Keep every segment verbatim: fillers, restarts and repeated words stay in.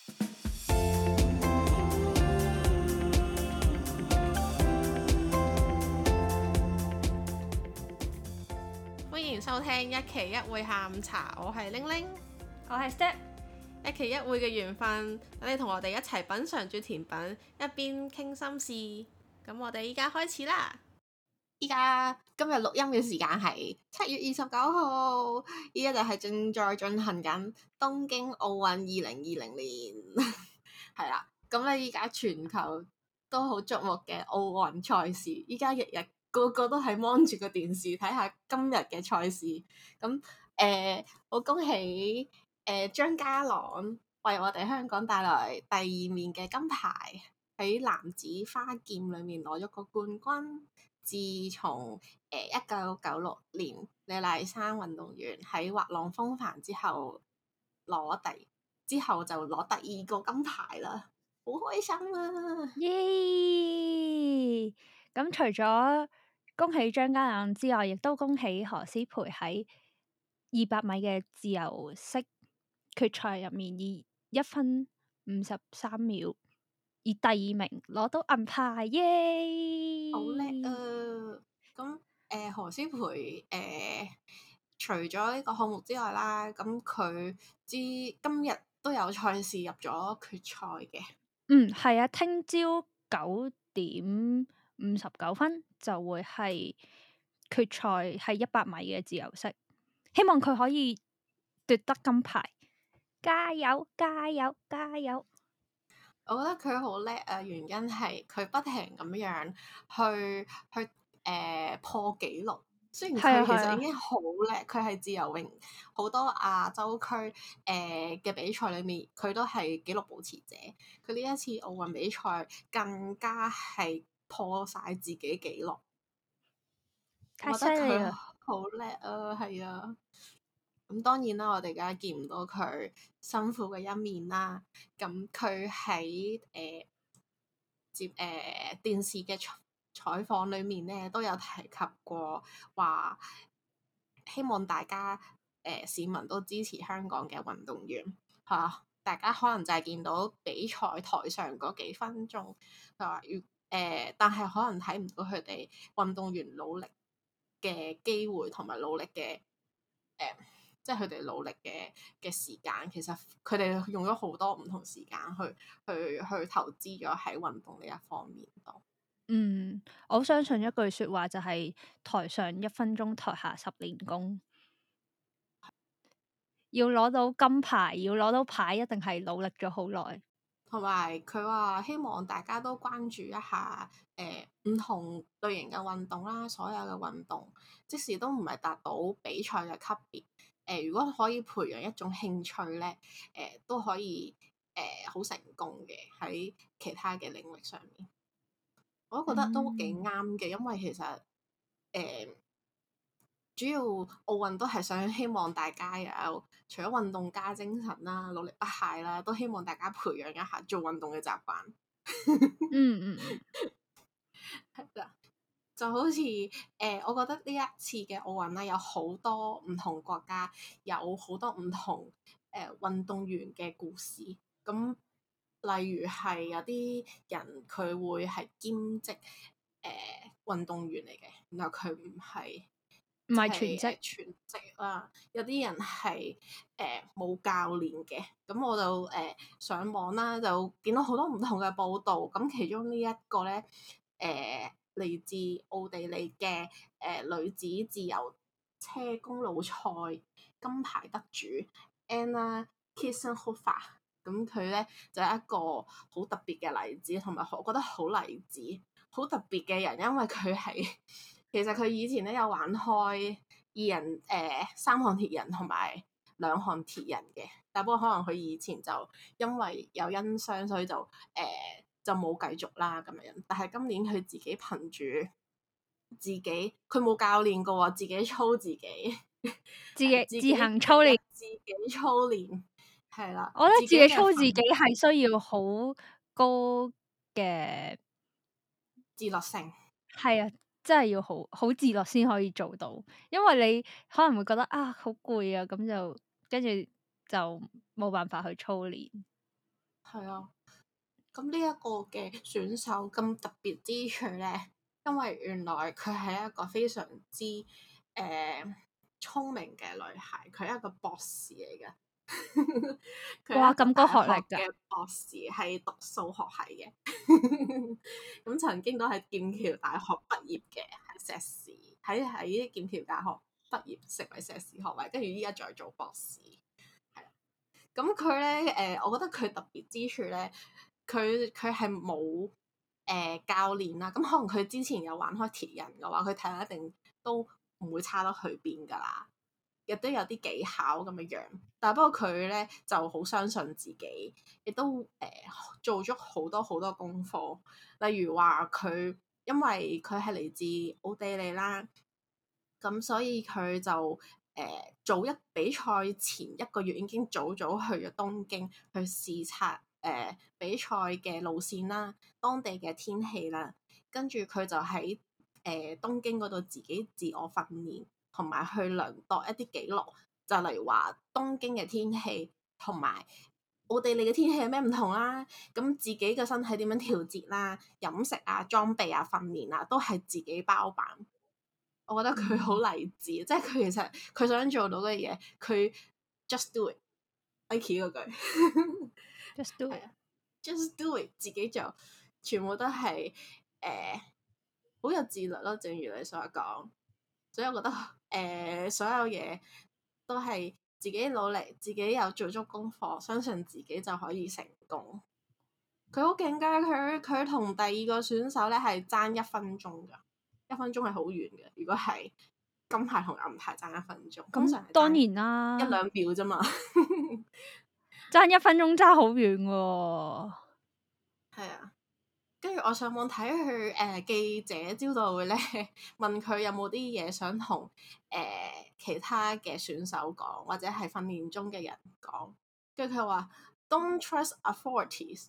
歡迎收聽一期一會下午茶，我係玲玲， 我係 Step， 一期一會嘅緣分，等你同我哋一齊品嚐住甜品，一邊傾心事。咁我哋依家開始啦。依家今日錄音嘅時間係七月二十九號，依家就係正在進行緊東京奧運二零二零年，係啦。咁咧依家全球都好矚目嘅奧運賽事，依家日日個個都係望住個電視睇下今日嘅賽事。咁誒，我、呃、恭喜誒張家朗為我哋香港帶來第二面嘅金牌，喺男子花劍裏面攞咗個冠軍。自從誒一九九六年李麗珊運動員喺滑浪風帆之後攞第之後就攞第二個金牌啦，好開心啊！ 耶！咁除咗恭喜張家朗之外，亦都恭喜何詩蓓喺二百米嘅自由式決賽入面以一分五十三秒以第二名攞到銀牌，耶！ 好叻啊！咁誒、呃、何詩蓓誒除咗呢個項目之外啦，咁佢知今日都有賽事入咗決賽嘅。 嗯，係啊，聽朝九點五十九分就會係決賽，係一百米嘅自由式，希望佢可以奪得金牌，加油加油加油！ 我覺得佢好叻啊，原因係佢不停咁樣去去誒、呃、破紀錄。雖然佢其實已經好叻，佢係、啊啊、自由泳好多亞洲區誒嘅比賽裏面，佢都係紀錄保持者。佢呢一次奧運比賽更加係破晒自己紀錄， 太犀利啦！ 好叻啊，係啊！咁當然啦，我哋梗係見唔到佢辛苦嘅一面啦。咁佢喺誒接誒、呃、電視嘅採訪裏面咧，都有提及過話，希望大家誒、呃、市民都支持香港嘅運動員嚇、啊。大家可能就係見到比賽台上嗰幾分鐘，佢話如誒，但係可能睇唔到佢哋運動員努力嘅機會同埋努力嘅誒。呃即係佢哋努力嘅嘅時間，其實佢哋用咗好多唔同時間去去去投資咗喺運動呢一方面度。 嗯，我相信一句説話就係台上一分鐘，台下十年功。要攞到金牌，要攞到牌，一定係努力咗好耐。 同埋佢話希望大家都關注一下誒唔同類型嘅運動啦，所有嘅運動，即使都唔係達到比賽嘅級別。誒、呃，如果可以培養一種興趣咧，誒、呃、都可以誒好、呃、成功嘅喺其他嘅領域上面，我都覺得都幾啱嘅，因為其實誒、呃、主要奧運都係想希望大家有除咗運動家精神啦、努力不懈啦，都希望大家培養一下做運動嘅習慣。 嗯嗯嗯， 係啦。就好似誒、呃，我覺得呢一次嘅奧運咧，有好多唔同國家，有好多唔同誒、呃、運動員嘅故事。咁例如係有啲人佢會係兼職誒、呃、運動員嚟嘅，然後佢唔係唔係全職、 呃、全職啦。有啲人係誒冇教練嘅，咁我就誒、呃、上網啦，就見到好多唔同嘅報導。咁其中呢一個咧誒。呃嚟自奧地利嘅誒、呃、女子自由車公路賽金牌得主 Anna Kiesenhofer，咁佢咧就係、是、一個好特別嘅例子，同埋我覺得好勵志、好特別嘅人，因為佢係其實佢以前咧有玩開二人誒、呃、三項鐵人同埋兩項鐵人嘅，但不過可能佢以前就因為有因傷，所以就誒。呃就冇繼續啦咁樣，但係今年佢自己憑住自己，佢冇教練嘅喎，自己操自己， 自己自己自行操練， 自己操練，係啦。 我覺得自己操自己己係需要好高嘅自律性， 係啊，真係要好好自律先可以做到，因為你可能會覺得啊好攰啊，咁就跟住就冇辦法去操練。 係啊。咁呢一個嘅選手咁特別之處咧，因為原來佢係一個非常之誒、呃、聰明嘅女孩，佢係一個博士嚟嘅。佢哇， 係一個咁高學大學歷㗎！ 嘅博士，係讀數學系嘅。咁曾經都係劍橋大學畢業嘅，係碩士，喺喺劍橋大學畢業成為碩士學位，跟住依家再做博士。係啦，咁佢咧誒，我覺得佢特別之處咧。佢佢係冇誒教練啦，咁可能佢之前有玩開鐵人嘅話，佢體能一定都唔會差得去邊噶啦，亦都有啲技巧咁嘅樣。但係不過佢咧就好相信自己，亦都誒、呃、做咗好多好多功課。例如話佢因為佢係嚟自奧地利啦，咁所以佢就誒、呃、早一比賽前一個月已經早早去咗東京去視察。誒、呃、比賽嘅路線啦，當地嘅天氣啦，跟住佢就喺誒、呃、東京嗰度自己自我訓練，同埋去量度一啲記錄，就例如話東京嘅天氣同埋奧地利嘅天氣有咩唔同啦，咁自己嘅身體點樣調節啦，飲食啊、裝備啊、訓練啊，都係自己包辦。我覺得佢好勵志，即係佢其實佢想做到嘅嘢，佢 just do it，Nike 嗰句。 Just do it， 係啊，just do it，自己做，全部都係誒好有自律咯。正如你所講，所以我覺得誒、呃、所有嘢都係自己努力，自己有做足功課，相信自己就可以成功。佢好勁㗎，佢佢同第二個選手咧係爭一分鐘㗎，一分鐘係好遠嘅。如果係金牌同銀牌爭一分鐘，通常係當爭然啦， 一兩秒啫嘛。 爭一分鐘爭好遠喎。 係啊。跟住我上網睇佢誒記者招待會咧，問佢有冇啲嘢想同誒、呃、其他嘅選手講，或者係訓練中嘅人講。跟住佢話：Don't trust authorities。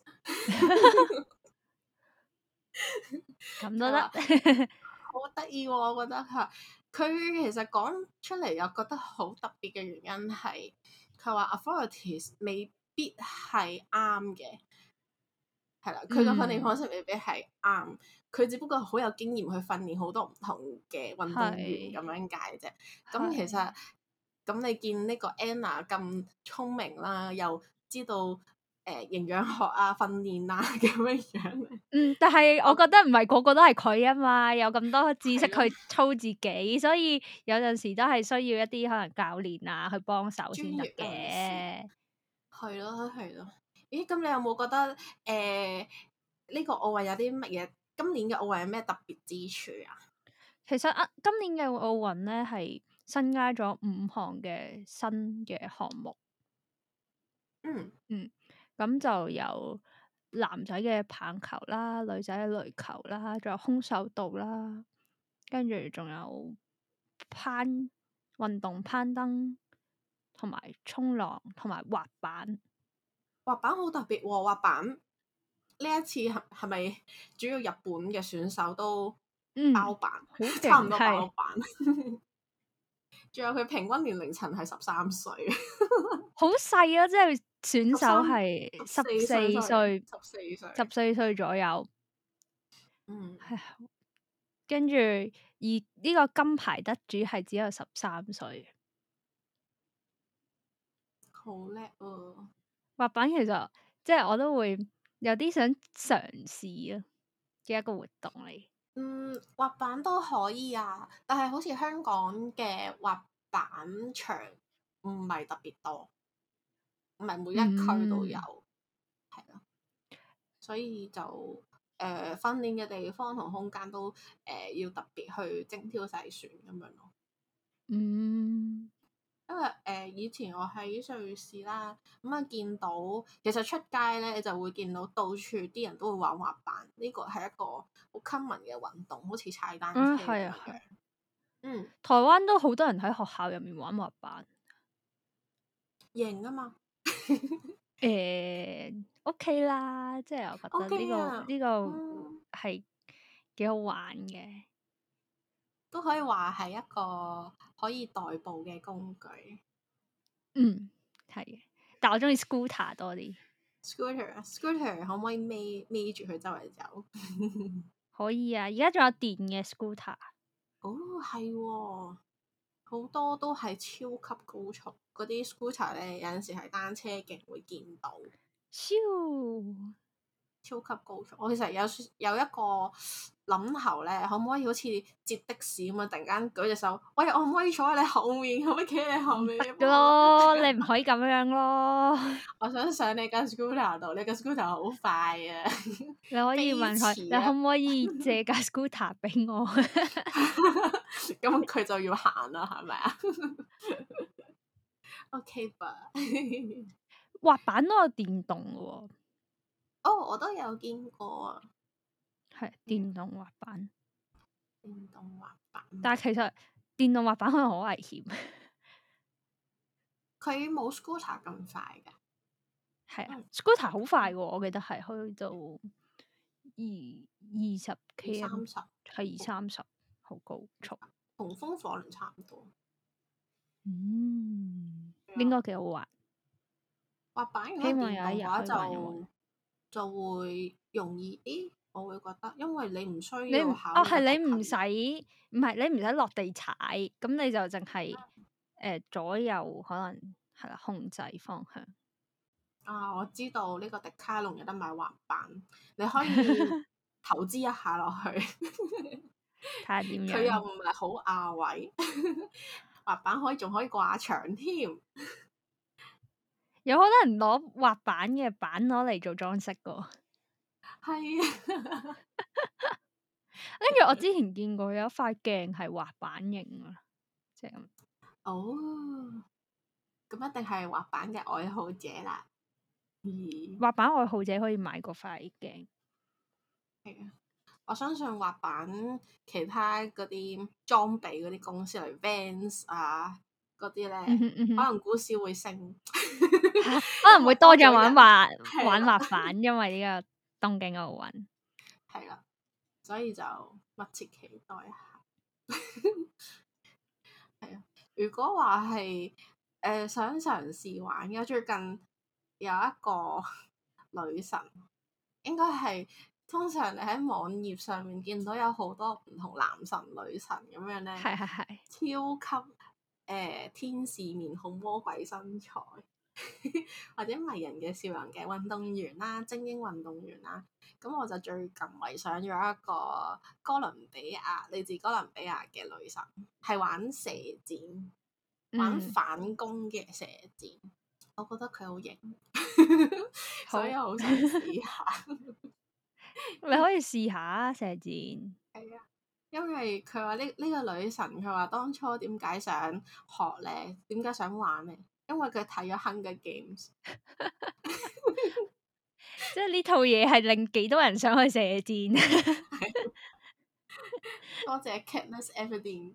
咁都得。 好得意喎！我覺得佢佢其實講出嚟又覺得好特別嘅原因係，佢話 authorities 未必係啱嘅。係啦，佢個訓練方式未必係啱，佢、嗯、只不過好有經驗去訓練好多唔同嘅運動員咁樣解啫。咁其實咁你見呢個 Anna 咁聰明啦，又知道誒、呃、營養學啊、訓練啊咁樣樣。 嗯，但係我覺得唔係個個都係佢啊嘛，有咁多知識的去操自己，所以有陣時都係需要一啲可能教練啊去幫手先得嘅。 係咯，係咯。咦？咁你有冇覺得誒呢、呃呢個奧運有啲乜嘢？今年嘅奧運有咩特別之處啊？ 其實啊，今年嘅奧運咧係新加咗五項嘅新嘅項目。 嗯嗯，咁就有男仔嘅棒球啦，女仔嘅壘球啦，仲有空手道啦，跟住仲有攀運動攀登，同埋衝浪，同埋滑板。 滑板好特別喎、滑板呢一次係係咪主要日本嘅選手都包辦， 好勁， 差唔多包係辦。仲有佢平均年齡層係十三歲， 好細啊！即係選手係十四歲， 十四歲， 十四歲左右。 嗯， 係跟住而呢個金牌得主係只有十三歲。 好叻啊！ 滑板其實即係我都會有啲想嘗試啊嘅一個活動嚟。 嗯，滑板都可以啊，但係好似香港嘅滑板場唔係特別多，唔係每一區都有，係咯、嗯，所以就誒、呃、訓練嘅地方同空間都誒、呃、要特別去精挑細選咁樣咯。 嗯， 因為誒、呃、以前我喺瑞士啦，咁、嗯、啊見到其實出街咧就會見到到處啲人都會玩滑板，呢個係一個好 common 嘅運動，好似踩單車咁樣。 嗯，係啊，係。 嗯， 台灣都好多人喺學校入面玩滑板。 型啊嘛。 誒，OK 啦，即係我覺得呢 OK 個啊， 呢個嗯， 係幾好玩嘅。 都可以話係一個可以代步嘅工具。 嗯，係嘅，但我中意 scooter 多啲。 scooter，scooter 可唔可以孭孭住佢周圍走？ 可以啊，而家仲有電嘅 scooter。 哦，係喎，好多都係超級高速嗰啲 scooter 咧，有陣時係單車徑會見到。 超超級高速，我其實有有一個諗頭咧，可唔可以好似接的士咁啊？突然間舉隻手，喂，我可唔可以坐喺你後面？可唔可以企喺你後面？ 得㗎咯，你唔可以咁樣咯。 我想上你架 scooter 度，你架 scooter 好快啊！ 你可以問佢，你可唔可以借架 scooter 俾我？ 咁佢就要行啦，係咪啊？OK 吧。 滑板都有電動嘅喎。 哦，我都有見過啊。 係電動滑板。 電動滑板。 但係其實電動滑板可能好危險。 佢冇 scooter 咁快㗎。 係啊，scooter 好快喎，我記得係去到二二十 K M， 三十係二三十，好高速。 同風火輪差唔多。 嗯，應該幾好玩。 滑板如果希望電動嘅話有一日可以玩一就玩就會容易啲，我會覺得，因為你唔需你要唔哦考慮個係你唔平衡。 使唔係你唔使落地踩，咁你就淨係誒左右可能係啦控制方向。 啊！我知道呢個迪卡龍有得買滑板，你可以投資一下落去。 睇下點佢又樣。 唔係好壓位，滑板可以仲可以掛牆添。 有好多人攞滑板嘅板攞嚟做裝飾噶。 係啊。 跟住我之前見過有一塊鏡係滑板型啊，即係咁。 哦，咁一定係滑板嘅愛好者啦。咦， 滑板愛好者可以買嗰塊鏡。 係啊。我相信滑板其他嗰啲裝備嗰啲公司，例如 Vans 啊嗰啲咧， 嗯哼嗯哼可能股市會升， 可能會多咗人玩滑係啦玩滑板，因為呢個東京奧運。 係啦，所以就密切期待一下。係啊，如果話係誒想嘗試玩嘅，最近有一個女神，應該係。通常你喺網頁上面見到有好多唔同男神女神咁樣咧， 係係係超級誒、呃、天使面孔、魔鬼身材，或者迷人嘅笑容嘅運動員啦、精英運動員啦。咁我就最近迷上咗一個哥倫比亞嚟自哥倫比亞嘅女神，係玩射箭、玩反攻嘅射箭。嗯、我覺得佢好型，所以我好想試下。 你可以試下射箭。 係啊，因為佢話呢呢個女神，佢話當初點解想學咧？點解想玩咧？因為佢睇咗《Hunger Games》， 即係呢套嘢係令幾多人想去射箭。 多謝 Katniss Everdeen。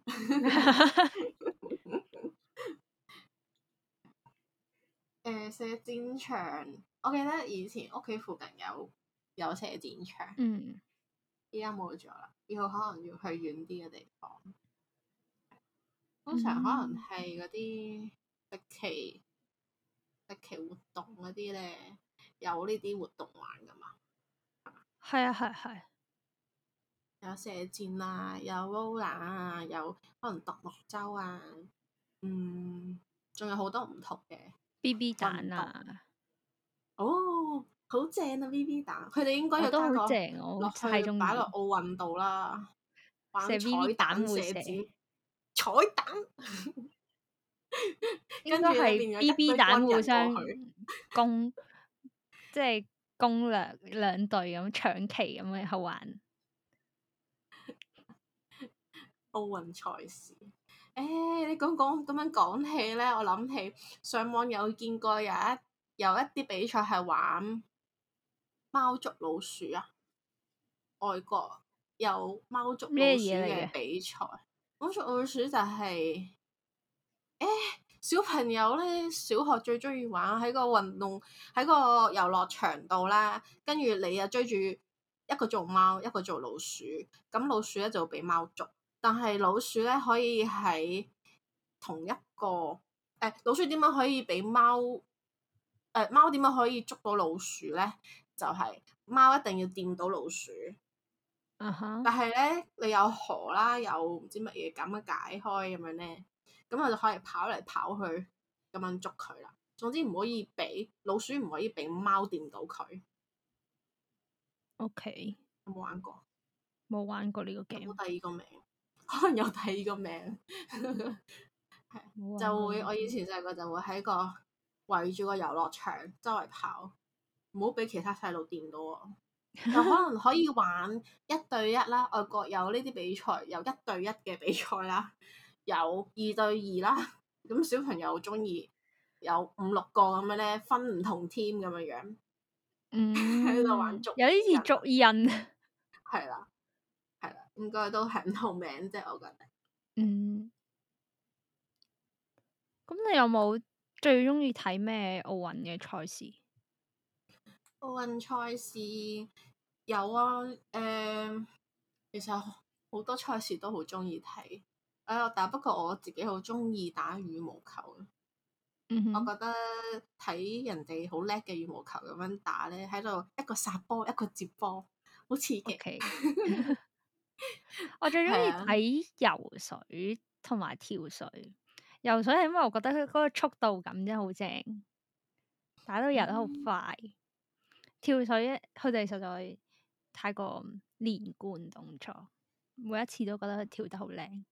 誒、呃，射箭場，我記得以前屋企附近有有射箭場。 嗯。 依家冇咗啦，以後可能要去遠啲嘅地方。通常可能係嗰啲歷奇歷奇活動嗰啲咧，有呢啲活動玩噶嘛。 係啊係係。 有射箭啊，有 roller 啊，有可能獨木舟啊，嗯，仲有好多唔同嘅 B B 彈啊。 哦，好正啊 ！B B 彈，佢哋應該要都加個好正，我落去太中意擺落奧運度啦，玩射 B B 彈會射。 彩箭，彩彈。 應該係 B B 彈互相攻，即係攻兩兩隊咁搶旗咁樣好玩。 奧運賽事，誒、欸，你講講咁樣講起咧，我諗起上網有見過有一有一啲比賽係玩貓捉老鼠啊，外國有貓捉老鼠嘅比賽。貓捉老鼠就係、是，誒、欸，小朋友咧，小學最中意玩喺個運動喺個遊樂場度啦，跟住你又追住一個做貓，一個做老鼠，咁老鼠咧就會俾貓捉。但係老鼠咧可以喺同一個誒、欸，老鼠點樣可以俾貓誒貓點樣可以捉到老鼠咧？就係、是、貓一定要掂到老鼠。 啊哈、uh！Huh. 但係咧，你有河啦，有唔知乜嘢咁樣解開咁樣咧，咁我就可以跑嚟跑去咁樣捉佢啦。總之唔可以俾老鼠，唔可以俾貓掂到佢。 OK， 有冇玩過？ 冇玩過呢個 game。 有冇第二個名？可能有第二個名。係就會我以前細個就會喺個圍住個遊樂場周圍跑，唔好俾其他細路掂到我。又可能可以玩一對一啦，外國有呢啲比賽，有一對一嘅比賽啦，有二對二啦。咁小朋友中意有五六個咁樣咧，分唔同 team 咁樣樣，喺度、嗯、玩捉有啲似捉人。 係啦，係啦，應該都係唔同名啫，我覺得。 嗯。咁你有冇最中意睇咩奧運嘅賽事？ 奧運賽事有啊，誒、呃，其實好多賽事都好中意睇，誒，但不過我自己好中意打羽毛球。 嗯哼， 我覺得睇人哋好叻嘅羽毛球咁樣打咧，喺度一個殺波，一個接波，好刺激。 Okay. 我最中意睇游水同埋跳水。游水係因為我覺得佢嗰個速度感真係好正，打到游得好快。嗯、跳水佢哋實在太過連貫動作，每一次都覺得佢跳得好靚。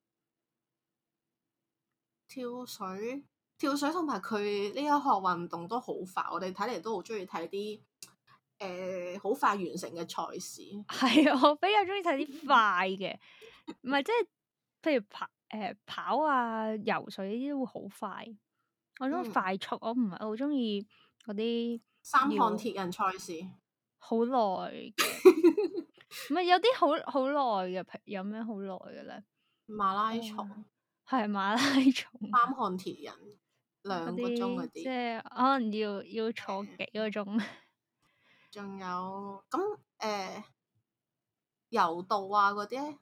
跳水，跳水同埋佢呢一項運動都好快，我哋睇嚟都好中意睇啲誒好快完成嘅賽事。 係啊，我比較中意睇啲快嘅，唔係即係譬如跑誒、呃、跑啊、游水呢啲都會好快。我中意快速，嗯、我唔係好中意嗰啲三項鐵人賽事， 好耐嘅，唔係有啲好好耐嘅，有咩好耐嘅咧？ 馬拉松係、呃、馬拉松， 三項鐵人兩個鐘嗰啲， 即係可能要要坐幾個鐘。 仲有咁誒、呃、柔道啊嗰啲咧，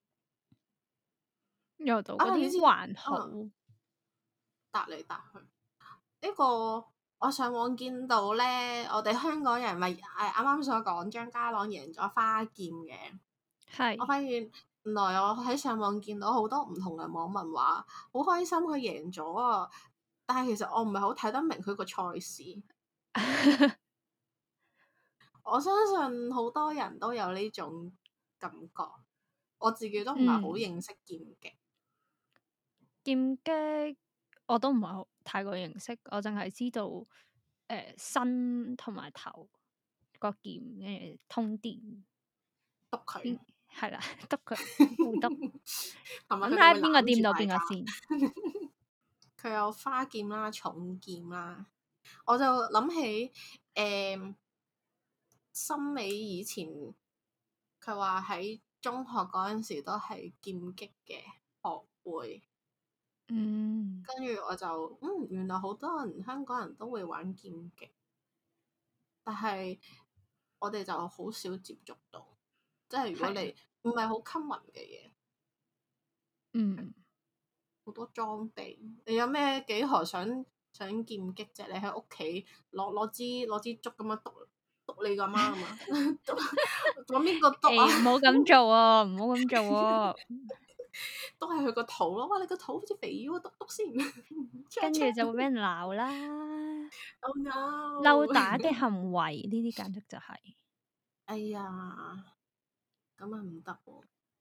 柔道嗰啲還好， 搭嚟搭去。呢、這個我上網見到咧，我哋香港人咪誒啱啱所講張家朗贏咗花劍嘅，係是我發現原來我喺上網見到好多唔同嘅網民話好開心佢贏咗啊，但係其實我唔係好睇得明佢個賽事。我相信好多人都有呢種感覺，我自己都唔係好認識劍擊。 劍擊我都唔係好太過認識，我淨係知道誒、呃、身同埋頭個劍跟住通電篤佢係啦，篤佢互篤，咁睇睇下邊個掂到邊個先。 佢有花劍啦、重劍啦，我就諗起誒，森美以前佢話喺中學嗰陣時都係劍擊嘅學會。 嗯， 跟住我就嗯，原來好多人香港人都會玩劍擊，但係我哋就好少接觸到，即係如果你唔係好 common 嘅嘢， 嗯， 好多裝備，你有咩幾何想想劍擊啫？你喺屋企攞攞支攞支竹咁樣篤篤你個媽啊嘛，篤揾邊個篤啊？ 唔好咁做啊！唔好咁做啊！ 都係佢個肚咯，哇！你個肚好似肥咗，篤篤先， 跟住就會俾人鬧啦。 Oh no！ 溜打嘅行為呢啲簡直就係、是， 哎呀，咁啊唔得喎。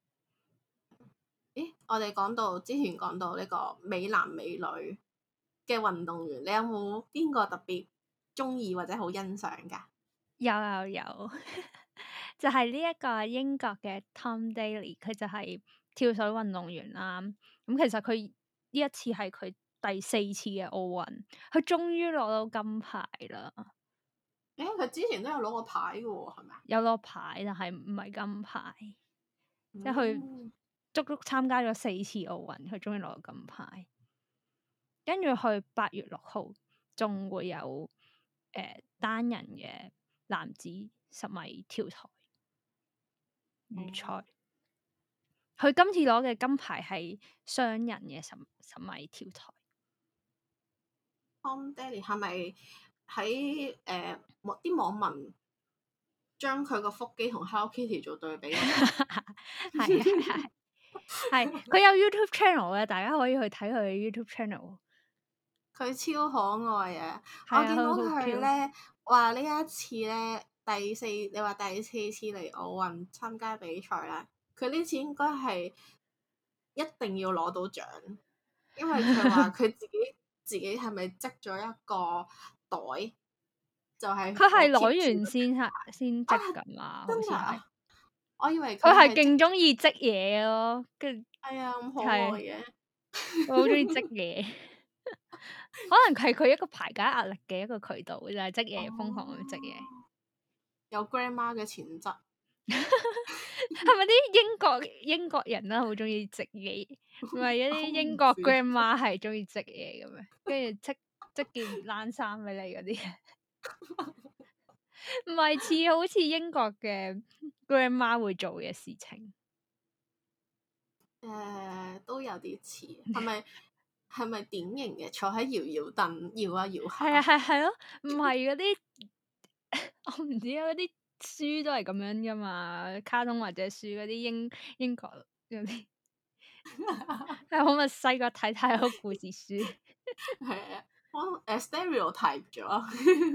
咦，我哋講到之前講到呢個美男美女嘅運動員，你有冇邊個特別中意或者好欣賞噶？ 有有有，就係呢一個英國嘅 Tom Daley，佢就係跳水運動員啦。咁其實佢呢一次係佢第四次嘅奧運，佢終於攞到金牌啦。 誒，佢之前都有攞過牌嘅喎，係咪啊？ 有攞牌，但係唔係金牌， 嗯、 即係佢足足參加咗四次奧運，佢終於攞到金牌。跟住去八月六號仲會有誒、呃、單人嘅男子十米跳台預賽。佢、嗯、今次攞嘅金牌係雙人嘅十十米跳台。 Tom Daley 係咪喺誒啲網民將佢個腹肌同 Hello Kitty 做對比，係係係係，佢有 YouTube channel 嘅，大家可以去睇佢嘅 YouTube channel。 佢超可愛啊！ 係啊， 我見到佢好佢咧話呢一次咧第四，你話第四次嚟奧運參加比賽啦，佢呢次應該係一定要攞到獎，因為佢話佢自己自己係咪織咗一個袋，就係佢係攞完先係先織㗎嘛，好似係。 我以為佢係係勁中意織嘢咯，跟住係啊咁可愛嘅， 我好中意織嘢。可能係佢一個排解壓力嘅一個渠道，就係織嘢，瘋狂咁織嘢。 有 grandma 嘅潛質。 係咪啲英國英國人啦，好中意織嘢？唔係一啲英國 grandma 係中意織嘢嘅咩？跟住織織件冷衫俾你嗰啲，唔係似好似英國嘅 grandma 會做嘅事情。 誒、呃，都有啲似，係咪係咪典型嘅坐喺搖搖凳搖啊搖下？ 係啊係係咯，唔係嗰啲我唔知啊，嗰啲書都係咁樣噶嘛，卡通或者書嗰啲英英國嗰啲，係好咪細個睇太多故事書。 係啊，我誒 stereotype 咗。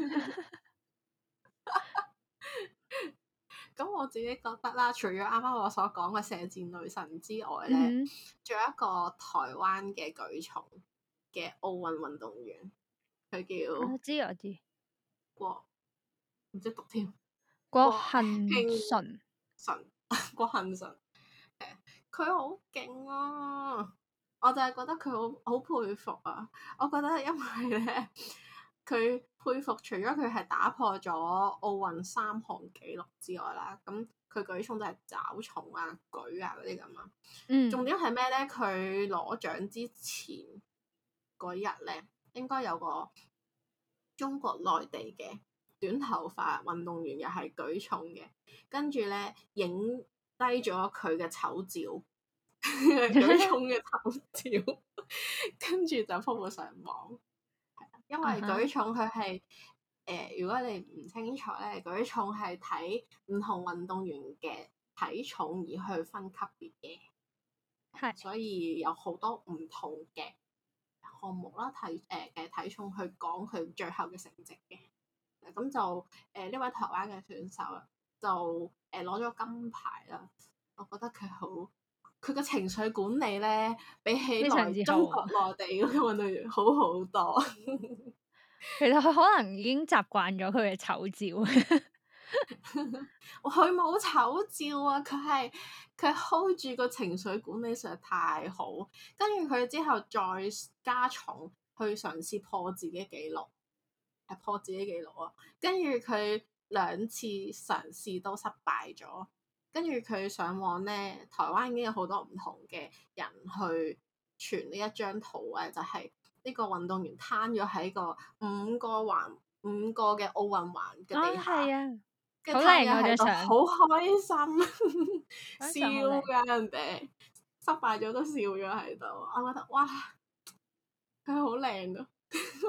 咁我自己覺得啦，除咗啱啱我所講嘅射箭女神之外咧，仲、 嗯、 有一個台灣嘅舉重嘅奧運運動員，佢叫我知我知郭，唔知讀添， 郭幸婞淳， 淳，郭幸淳，佢好勁啊！我就係覺得佢好好佩服啊！我覺得因為咧，佢佩服除咗佢係打破咗奧運三項紀錄之外啦，咁佢舉重都係抓重啊、舉啊嗰啲咁啊。 嗯， 重點係咩咧？佢攞獎之前嗰日咧，應該有個中國內地嘅短頭髮運動員又係舉重嘅，跟住咧影低咗佢嘅醜照。舉重嘅頭照，跟住就鋪到上網。因為舉重佢係誒，如果你唔清楚咧，舉重係睇唔同運動員嘅體重而去分級別嘅，係，所以有好多唔同嘅項目啦，體誒嘅體重去講佢最後嘅成績嘅。咁就誒呢、呃、位台灣嘅選手啦，就誒攞咗金牌啦。我覺得佢好。佢個情緒管理咧，比起來中國內地嗰個運動員好好多。 其實佢可能已經習慣咗佢嘅醜照。 佢冇醜照啊！佢係佢 hold 住個情緒管理實在太好，跟住佢之後再加重去嘗試破自己紀錄，係破自己紀錄啊！跟住佢兩次嘗試都失敗咗。跟住佢上網咧，台灣已經有好多唔同嘅人去傳呢一張圖啊，就係、是、呢個運動員攤咗喺個五個環五個嘅奧運環嘅地下，跟住攤咗喺度，好開心，笑㗎人哋，失敗咗都笑咗喺度，我覺得哇，佢好靚啊，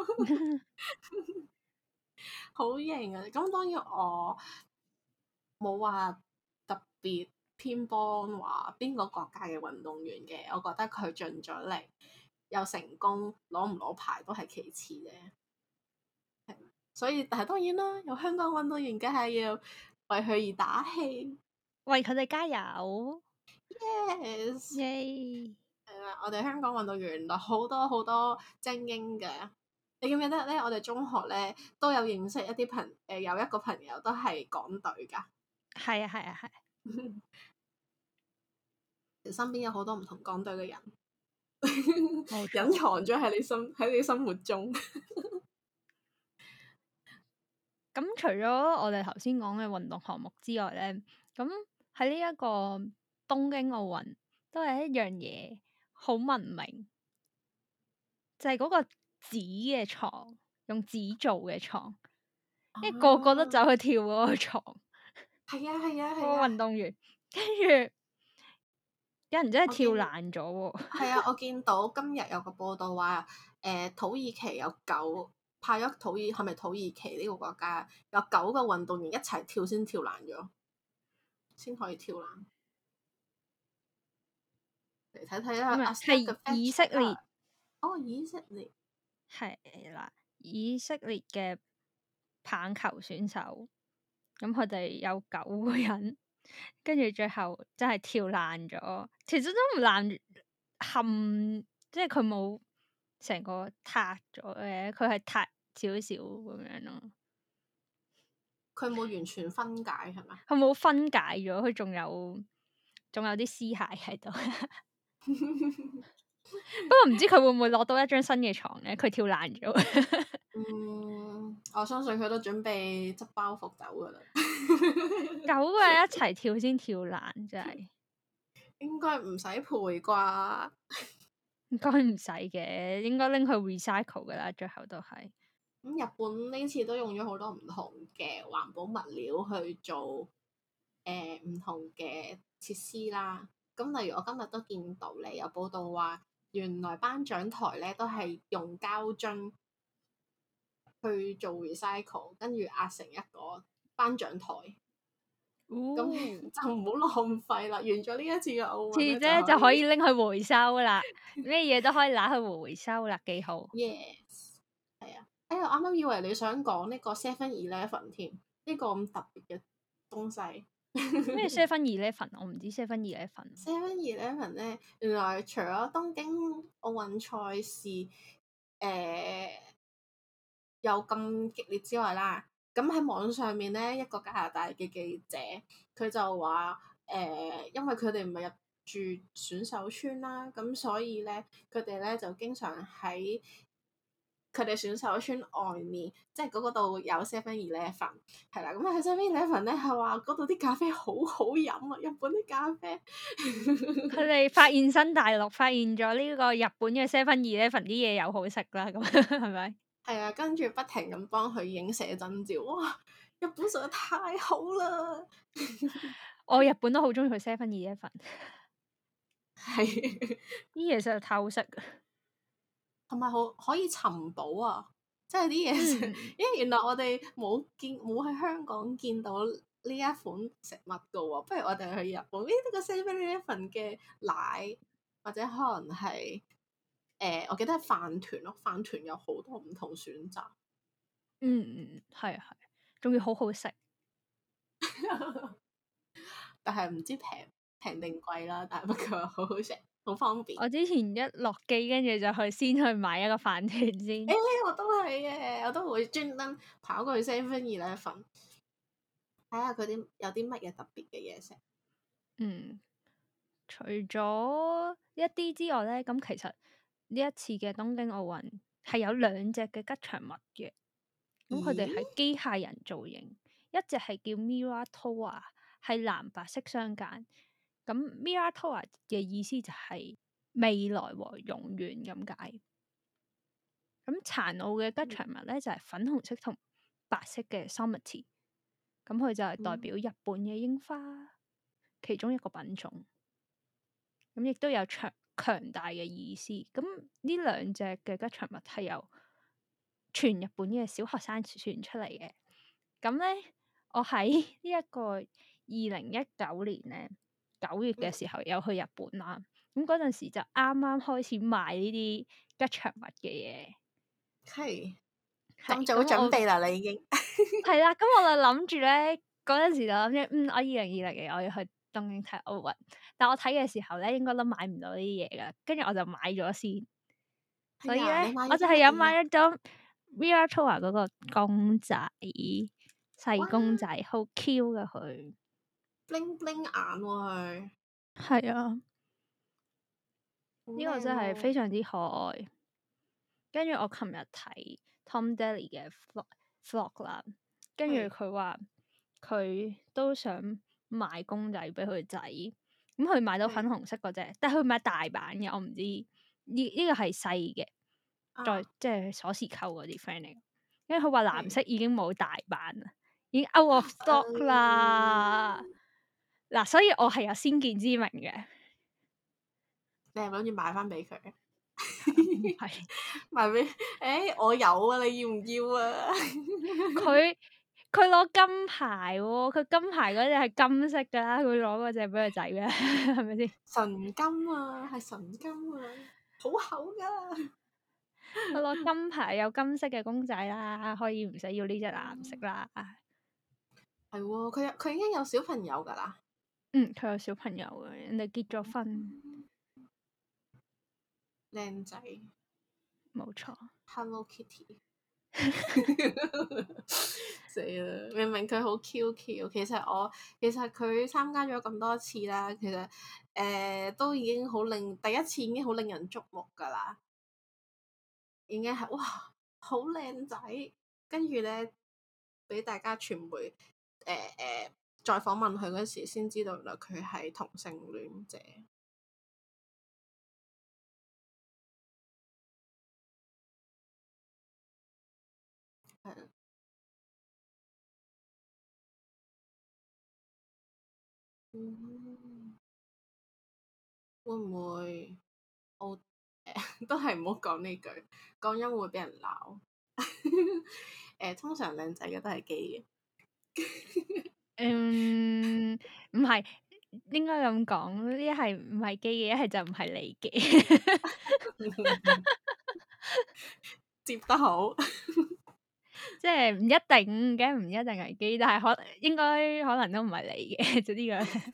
好型啊！咁當然我冇話特別偏幫話邊個國家嘅運動員嘅，我覺得佢盡咗力，又成功攞唔攞牌都係其次嘅。所以但係當然啦，有香港運動員梗係要為佢而打氣，為佢哋加油。Yes， 耶！ 係啦，我哋香港運動員有好多好多精英嘅。你記唔記得咧？我哋中學咧都有認識一啲朋誒、呃，有一個朋友都係港隊㗎。 係啊係啊係。 身邊有好多唔同港隊嘅人，隱藏咗喺你心喺你心目中。 咁除咗我哋頭先講嘅運動項目之外咧，咁喺呢一個東京奧運都係一樣嘢好聞名，就係、是、嗰個紙嘅床，用紙做嘅床，因為、啊、個個都走去跳嗰個床。係啊係啊係啊！ 個運動員跟住有人真係跳爛咗喎。 係啊，我見到今日有個報道話，誒、呃、土耳其有九派咗土耳係咪土耳其呢個國家有九個運動員一齊跳先跳爛咗，先可以跳爛。嚟睇睇啦，阿 Step 嘅 fact 以色列。 哦，以色列係啦，以色列嘅棒球選手，咁佢哋有九個人，跟住最後真係跳爛咗。其實都唔爛，冚即係佢冇成個塌咗嘅，佢係塌少少咁樣咯。 佢冇完全分解係咪？ 佢冇分解咗，佢仲有仲有啲屍骸喺度。不過唔知佢會唔會攞到一張新嘅床咧？佢跳爛咗。 嗯，我相信佢都準備執包袱走噶啦。 九個人一齊跳先跳爛，真係應該唔使賠啩？ 應該唔使嘅，應該拎去 recycle 噶啦，最後都係。 咁日本呢次都用咗好多唔同嘅環保物料去做誒唔同嘅設施啦。咁例如我今日都見到你有報道話，原來頒獎台咧都係用膠樽去做 recycle，跟住壓成一個頒獎台。咁、哦、就唔好浪費啦。完咗呢一次嘅奧運咧， 就可以拎去回收啦。咩嘢都可以拿去回收啦，幾好。 Yes，係啊。哎呀，我啱啱以為你想講呢個 Seven Eleven 添，呢、這個咁特別嘅東西。 咩 Seven Eleven？我唔知 Seven Eleven。 Seven Eleven 咧，原來除咗東京奧運賽事誒、呃、有咁激烈之外啦，咁喺網上面咧，一個加拿大嘅記者佢就話誒、呃，因為佢哋唔係入住選手村啦，咁所以咧佢哋咧就經常喺佢哋選手村外面，即係嗰度有 Seven Eleven， 係啦。咁喺 Seven Eleven 咧係話嗰度啲咖啡好好飲啊！日本啲咖啡， 佢哋發現新大陸，發現咗呢個日本嘅 Seven Eleven 啲嘢又好食啦，咁係咪？ 係啊，跟住不停咁幫佢影寫真照，哇！日本實在太好啦！ 我日本都好中意去 Seven Eleven， 係啲嘢實在太好食。 同埋好可以尋寶啊！即係啲嘢食，嗯、因為原來我哋冇見冇喺香港見到呢一款食物噶喎，不如我哋去日本，呢、這個 Seven Eleven 嘅奶或者可能係誒、呃，我記得係飯團咯，飯團有好多唔同選擇。 嗯嗯，係啊係，仲要好好食， 但係唔知平平定貴啦，但係不過好好食。好方便。 我之前一落機，跟住就去先去買一個飯團先。 誒、欸，我都係嘅，我都會專登跑過去 Seven Eleven 睇下佢啲有啲乜嘢特別嘅嘢食。 嗯，除咗一啲之外咧，咁其實呢一次嘅東京奧運係有兩隻嘅吉祥物嘅。咁佢哋係機械人造型，一隻係叫 Mira Toa， 係藍白色相間。咁 Mira Toa 嘅意思就係未來和永遠咁解。咁殘奧嘅吉祥物咧就係、是、粉紅色同白色嘅 Somerty， 咁佢就係代表日本嘅櫻花、嗯、其中一個品種。咁亦都有強強大嘅意思。咁呢兩隻嘅吉祥物係由全日本嘅小學生選出嚟嘅。咁咧，我喺呢一個二零一九年咧九月嘅時候有去日本啦。咁嗰陣時就啱啱開始賣呢啲吉祥物嘅嘢。 係咁早準備啦，你已經係啦。咁我就諗住咧，嗰陣時就諗住，嗯，我二零二零年我要去東京睇奧運。但我睇嘅時候咧，應該都買唔到呢啲嘢噶。跟住我就買咗先。所以咧，我就係有買咗張 Mira Toa 嗰個公仔，細公仔，好 Q 噶佢 ，bling bling 眼喎佢。 係啊，呢個真係非常之可愛。跟住我琴日睇 Tom Daly 嘅 vlog 啦，跟住佢話佢都想買公仔俾佢仔，咁佢買到粉紅色嗰隻，但係佢買大版嘅，我唔知呢呢個係細嘅，再、啊、即係鎖匙扣嗰啲 friend 嚟。因為佢話藍色已經冇大版啦，已經 out of stock 啦。嗱、嗯，所以我係有先見之明嘅。 你係咪諗住買翻俾佢？ 唔係賣俾誒我有啊，你要唔要啊？ 佢佢攞金牌喎、哦，佢金牌嗰隻係金色㗎啦，佢攞嗰隻俾佢仔咩？係咪先？ 純金啊，係純金啊，好厚㗎。 佢攞金牌有金色嘅公仔啦，可以唔使要呢隻藍色啦。 係喎，佢有佢已經有小朋友㗎啦。 嗯，佢有小朋友嘅，人哋結咗婚， 靚仔。 冇錯。 Hello Kitty。死啦！明明佢好 Q Q，其實我其實佢參加咗咁多次啦，其實誒、呃、都已經好令第一次已經好令人矚目㗎啦，已經係哇好靚仔，跟住咧俾大家傳媒誒誒、呃呃、再訪問佢嗰時，先知道原來佢係同性戀者。係啊。嗯，會唔會我誒、呃、都係唔好講呢句，講音會俾人鬧。誒、呃，通常靚仔嘅都係基嘅。 嗯，唔係應該咁講，一係唔係基嘅，一係就唔係你嘅。 接得好。 即係唔一定嘅，唔一定係基，但係可應該可能都唔係你嘅，就呢個。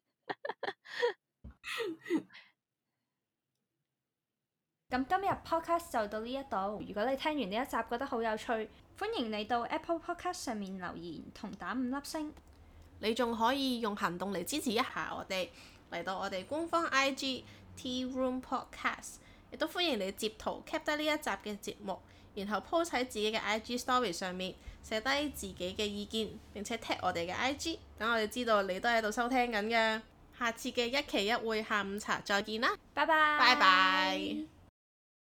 咁今日 podcast 就到呢一度。如果你聽完呢一集覺得好有趣，歡迎你到 Apple Podcast 上面留言同打五粒星。 你仲可以用行動嚟支持一下我哋，嚟到我哋官方 I G Tea Room Podcast， 亦都歡迎你截圖 cap 低呢一集嘅節目，然後 post 喺自己嘅 I G Story 上面寫低自己嘅意見，並且 tag 我哋嘅 I G， 等我哋知道你都喺度收聽緊嘅。下次嘅一期一會下午茶再見啦， 拜拜。 拜拜。